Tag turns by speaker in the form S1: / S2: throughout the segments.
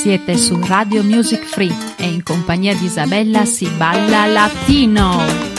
S1: Siete su Radio Music Free e in compagnia di Isabella si balla latino.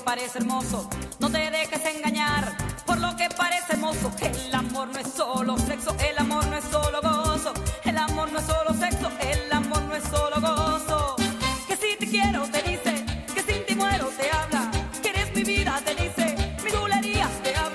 S2: parece hermoso. No te dejes engañar por lo que parece hermoso. El amor no es solo sexo, el amor no es solo gozo. El amor no es solo sexo, el amor no es solo gozo. Que si te quiero te dice, que sin ti muero te habla. Que eres mi vida te dice, mi bulerías te habla.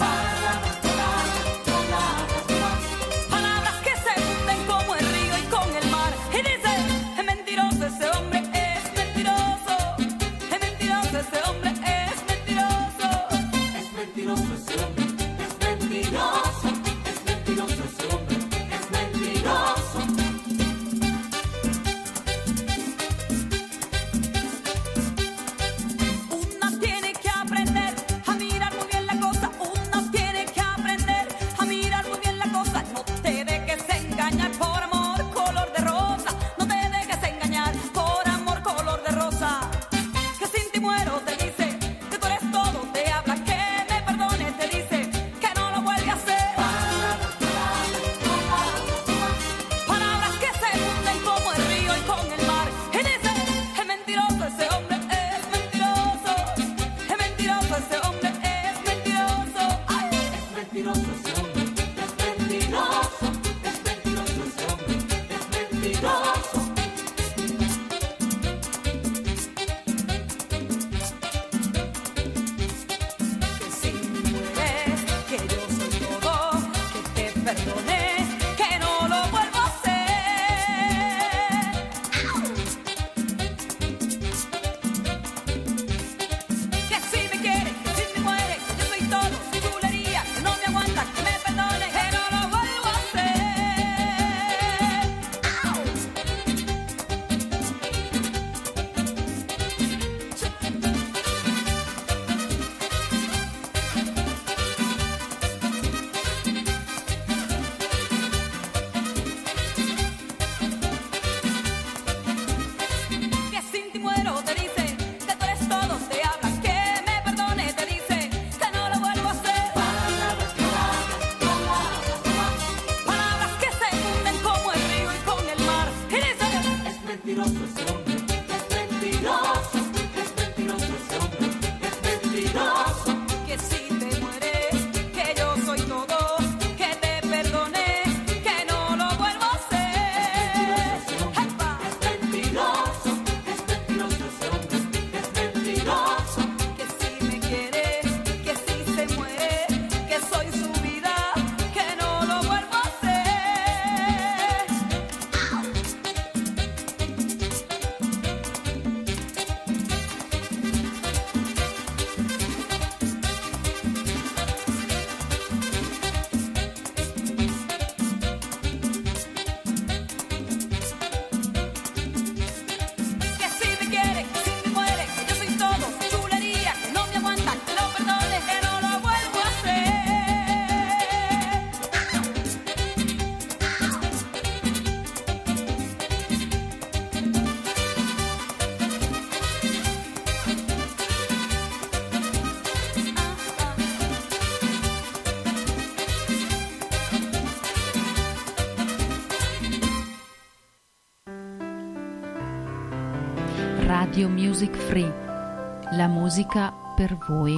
S2: Palabras que se funden como el río y con el mar. Y dice, es mentiroso ese hombre, es mentiroso. Es mentiroso ese hombre, es mentiroso.
S3: Es mentiroso ese hombre, es mentiroso. Es mentiroso ese hombre, es mentiroso.
S2: Una tiene que aprender a mirar muy bien la cosa. Una tiene que aprender a mirar muy bien la cosa. No te dejes engañar por amor color de rosa. No te dejes engañar por amor color de rosa. Que sin ti muero te dice, que tú eres todo. Te habla que me perdone, te dice, que no lo vuelve a hacer. Palabras que se funden como el río y con el mar. Y dice, es mentiroso ese hombre, es mentiroso. Es mentiroso ese hombre, es mentiroso. Ay.
S3: Es mentiroso ese hombre, es mentiroso. Es mentiroso ese hombre, es mentiroso.
S2: Que si mueres, que yo soy todo, que te perdone, que no lo vuelvo a hacer. Que si me quieres, que si me mueres, yo soy todo, su chulería, que no me aguanta, que me perdone, que no lo vuelvo a hacer. Que sin ti muero te dice, que tú eres todo, te habla, que me perdone, te dice, que no lo vuelvo a hacer. Palabras que se funden como el río y con el mar. Y dice,
S3: Es mentiroso ese hombre, es mentiroso. Es mentiroso ese hombre, es mentiroso.
S2: que si te mueres, que yo soy todo, que te perdone, que no lo vuelvo a hacer. ¡Epa!
S3: Es mentiroso. Es mentiroso ese hombre, es mentiroso.
S2: Que si me quiere, que si se muere, que soy su vida, que no lo vuelvo a hacer. Que si me quiere, que si me muere, que yo soy todo, chulería, que no me aguanta, que lo perdone, que no lo vuelvo a hacer.
S1: Radio Music Free, la musica per voi.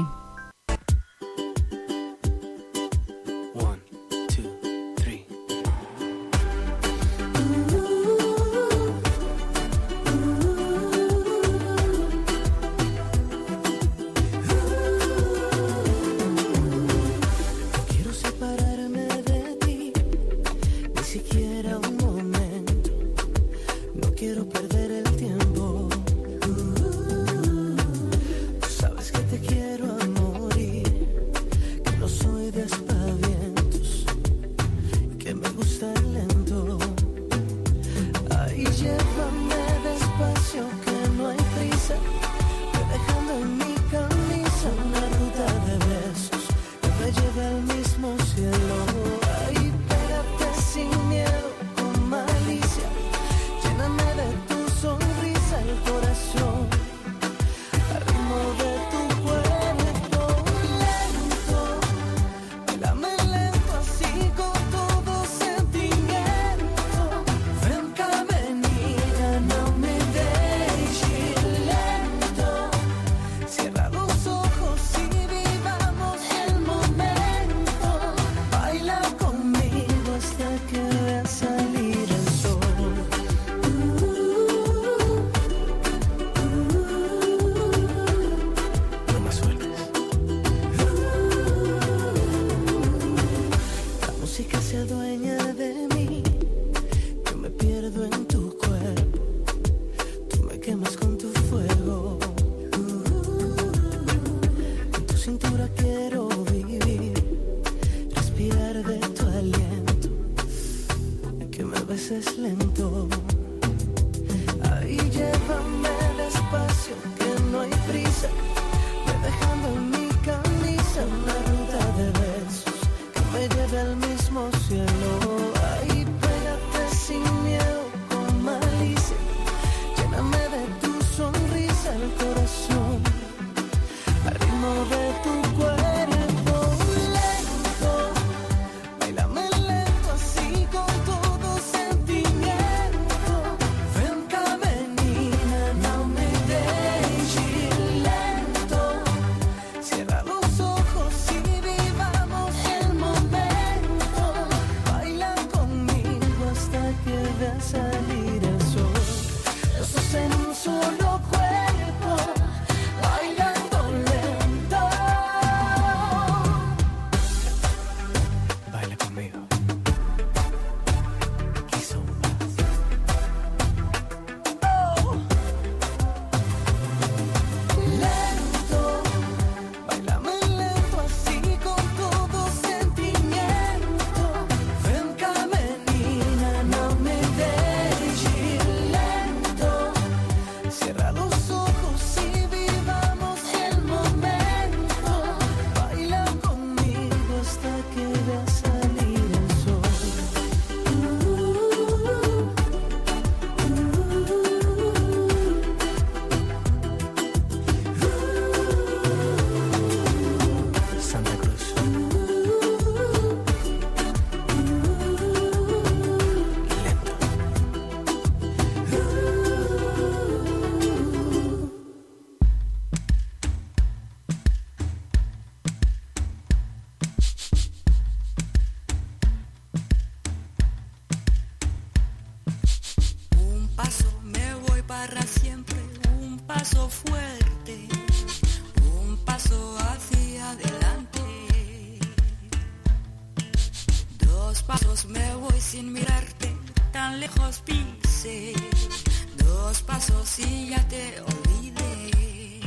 S4: 1, 2, 3. No quiero separarme de ti, ni siquiera un momento. No quiero perder el tiempo. Tú sabes que te quiero a morir, que no soy de aspavientos, que me gusta el lento. Ay, llévame despacio, que no hay prisa, ve dejando en mi camisa una ruta de besos que me lleve al mismo cielo. Ay, pégate sin miedo, con malicia, lléname de tus de mí. Yo me pierdo en tu cuerpo, tú me quemas con tu fuego. En tu cintura quiero vivir, respirar de tu aliento, que me beses lento. Ahí llévame despacio, que no hay prisa, ve dejando en mi camisa una ruta de besos que me lleve al mismo cielo. Ahí pégate sin miedo, con malicia, lléname de tu sonrisa el corazón, al ritmo de tu cuerpo. Lento, bailame lento así con todo sentimiento. Ven cá, menina, não me deixe ir lento. Cierra los ojos y vivamos el momento. Baila conmigo hasta que vea salir el sol. Los dos en un solo cuerpo, bailando lento. Baila conmigo. Kizomba. Lento, bailame lento así con todo sentimiento. Ven cá, menina, não me deixe ir lento. Cierra los ojos y vivamos el momento. Baila conmigo hasta que vea salir el sol. Santa Cruz. Lento.
S5: Un paso me voy para siempre, un paso fuerte, un paso hacia adelante. Dos pasos me voy sin mirarte, tan lejos pise. Dos pasos y ya te olvidé.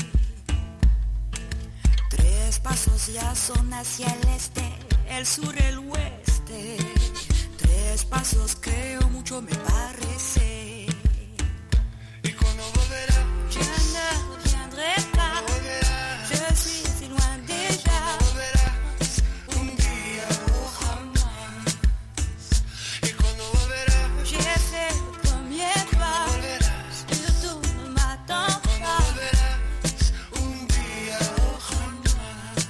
S5: Tres pasos ya son hacia el este, el sur, el oeste. Tres pasos creo mucho me parece.
S3: ¿Y cuando volverás?
S5: Je ne reviendrai pas, je suis si loin déjà.
S3: Volverás un día o jamás. ¿Y cuando volverás?
S5: J'ai fait le premier pas,
S3: Volverás,
S5: mais tú ne m'attends pas.
S3: volverás un día o jamás.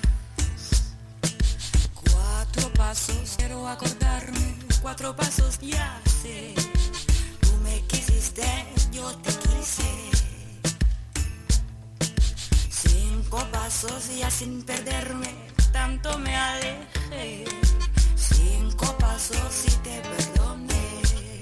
S5: Cuatro pasos quiero acordarme, cuatro pasos ya sé. Tú me quisiste, yo te quise. Cinco pasos ya sin perderme, tanto me alejé. Cinco pasos y te perdoné.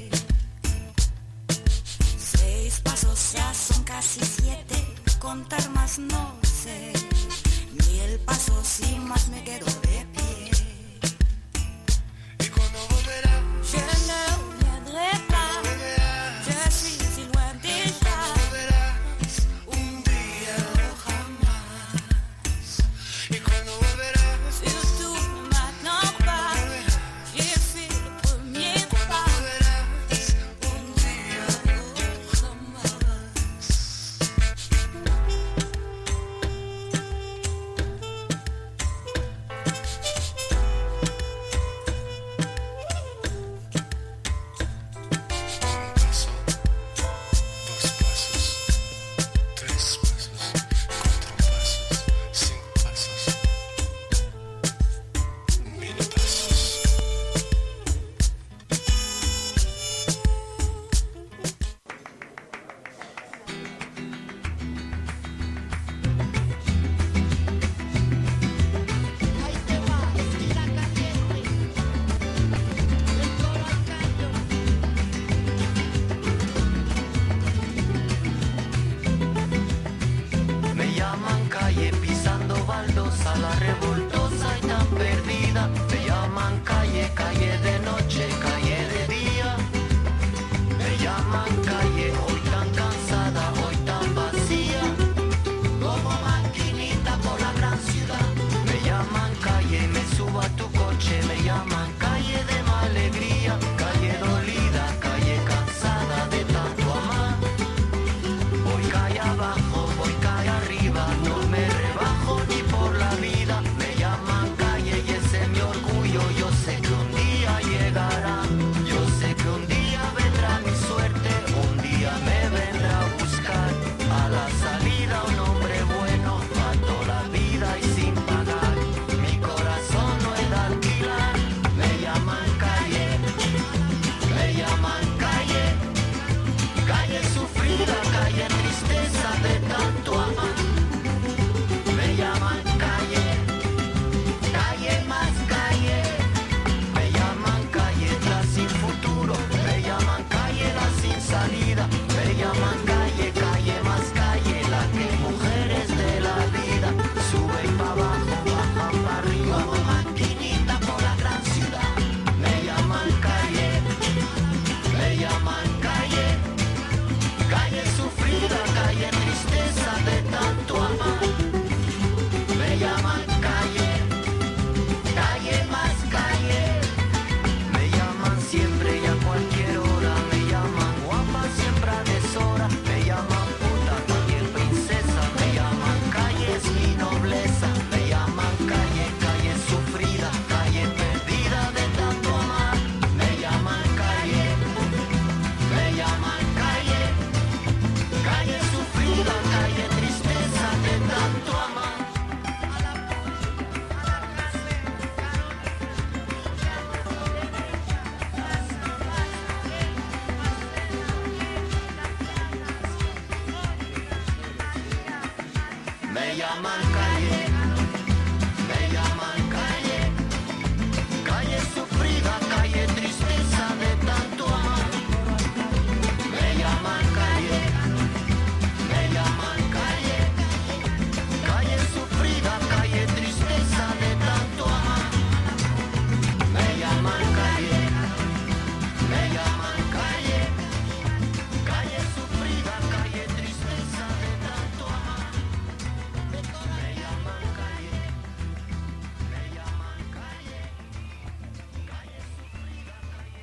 S5: Seis pasos ya son casi 7, contar más no sé. 1000 pasos y más me quedo de pie.
S3: ¿Y cuando volverás?
S5: Je ne reviendrai pas, je suis si loin déjà.
S3: Volverás un día o jamás. ¿Y cuando volverás?
S5: Surtout ne m'attends pas, j'ai fait le premier pas.
S3: Volverás un día o
S5: Jamás.
S4: llaman calle, me llaman calle, calle sufrida, calle tristeza de tanto amar. Me llaman calle, me llaman calle, calle sufrida, calle tristeza de tanto amar. Me llaman calle, me llaman calle, calle sufrida, calle tristeza de tanto amar. Me llaman calle, me llaman calle, calle sufrida, calle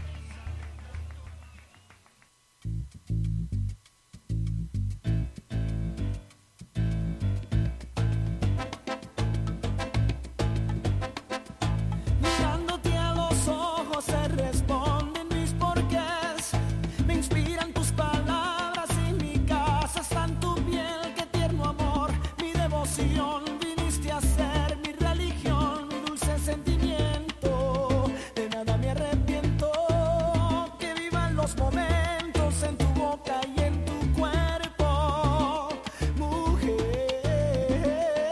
S6: Mirándote a los ojos se responden mis porqués. Me inspiran tus palabras y mi casa está en tu piel. Qué tierno amor, mi devoción. Viniste a ser mi religión, mi dulce sentimiento. De nada me arrepiento. Que vivan los momentos en tu boca y en tu cuerpo, mujer.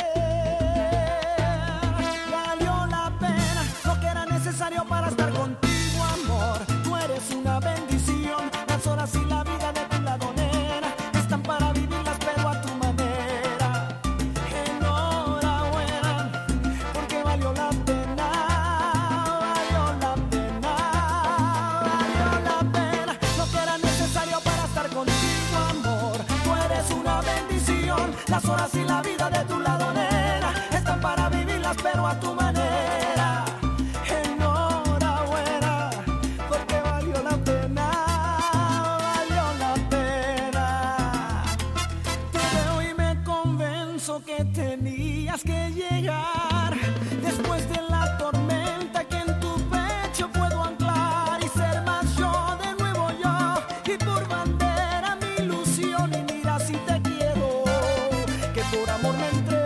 S6: Valió la pena lo que era necesario para estar contigo, amor. Tú eres una bendición. Las horas y la vida de tu lado, nena, están para vivirlas, pero a tu manera. Enhorabuena, porque valió la pena, valió la pena, valió la pena lo que era necesario para estar contigo, amor. Tú eres una bendición. Las horas y la vida de tu lado, nena, están para vivirlas, pero a tu manera. Enhorabuena, porque valió la pena, valió la pena. Te veo y me convenzo que tenías que llegar. Después de la tormenta que en tu pecho puedo anclar y ser más yo, de nuevo yo. Y por bandera mi ilusión, y mira si te quiero, que por amor me entrego.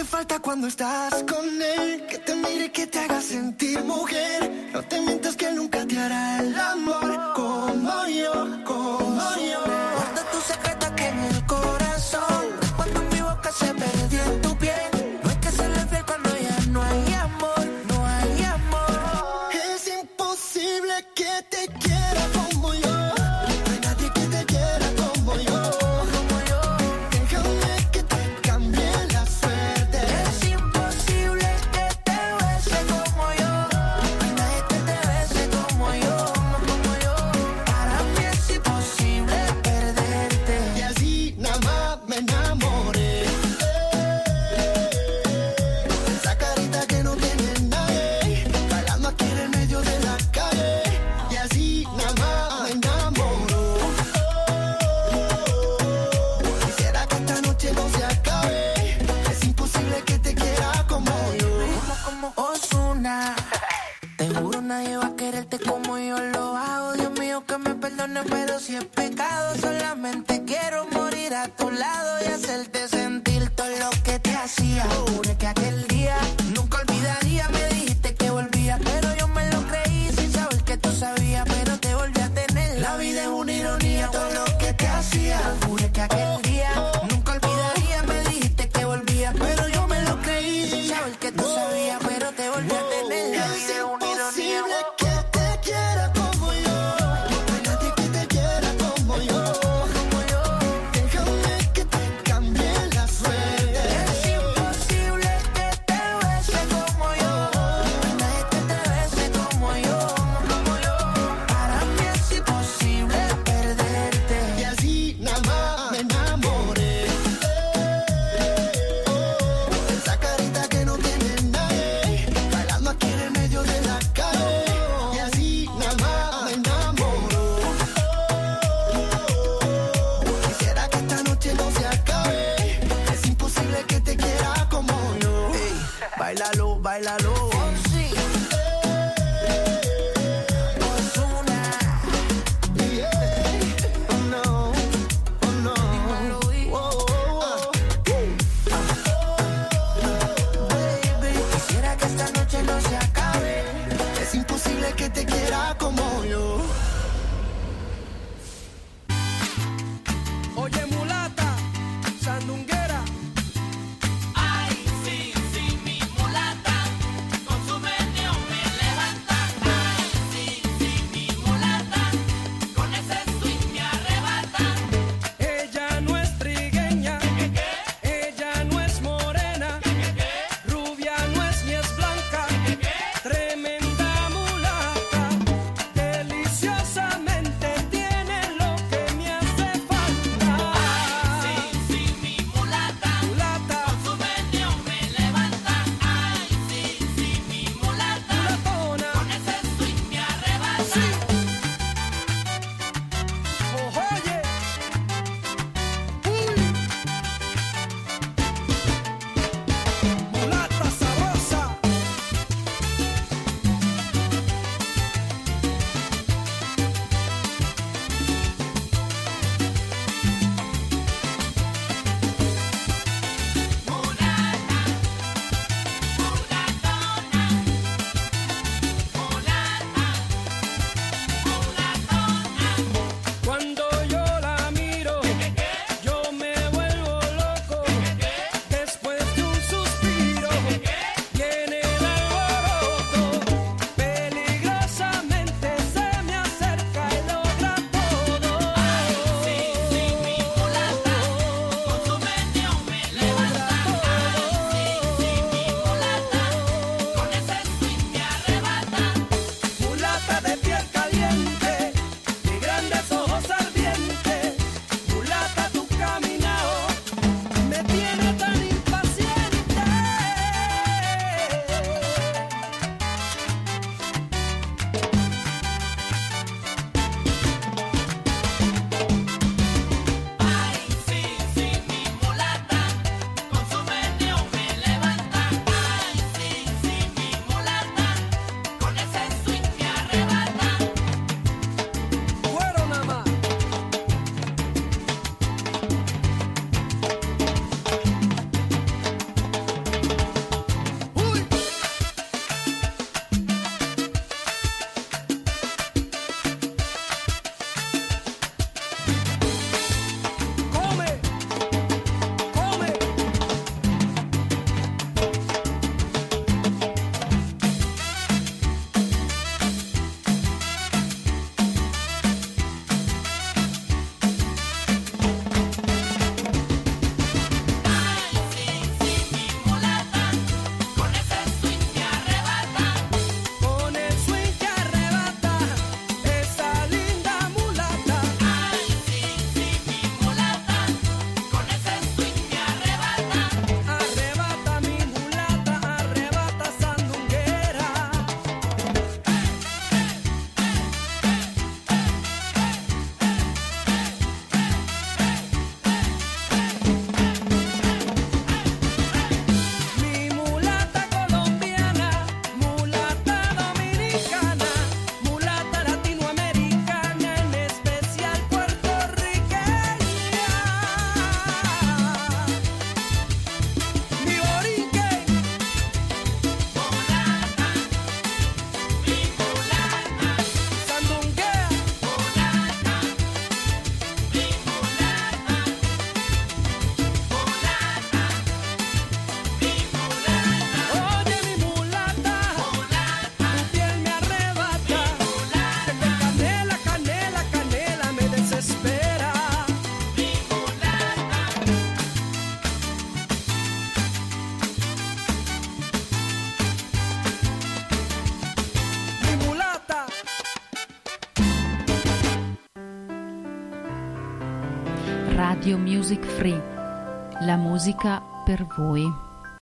S4: falta cuando estás con él, que te mire, que te haga sentir mujer. No te mientas que nunca te hará el amor como yo, como yo. Guarda tu secreto aquí en el corazón, cuando mi boca se perdió en tu piel. No es que se le fiel cuando ya no hay amor, no hay amor. Es imposible que te quiera como yo. No hay nadie que te quiera como yo. Déjame que te cambie la suerte. Es imposible que te bese como yo. No hay nadie que te bese como yo, como yo. Para mí es imposible perderte. Y así nada más me enamoré. Esa carita que no tiene nadie, bailando aquí en el medio de la calle. Y así nada más me enamoró. Quisiera que esta noche no se acabe. Es imposible que te quiera como yo. Como Ozuna. Te juro nadie va a quererte como yo lo hago. Dios mío que me perdone, pero si es pecado, solamente quiero morir a tu lado y hacerte sentir todo lo que te hacía. Juré que aquel día nunca olvidaría. Me dijiste que volvía, pero yo me lo creí sin saber que tú sabías, pero te volví a tener. La vida es una ironía, todo lo que te hacía. Juré que aquel día nunca olvidaría. Me dijiste que volvía, pero yo me lo creí sin saber que tú sabías, pero te volví a tener. La vida es una ironía. Que te quiera como yo. No hay nadie que te quiera como yo, como yo. Déjame que te cambie la suerte. Es imposible que te
S1: Radio Music Free, la musica per voi.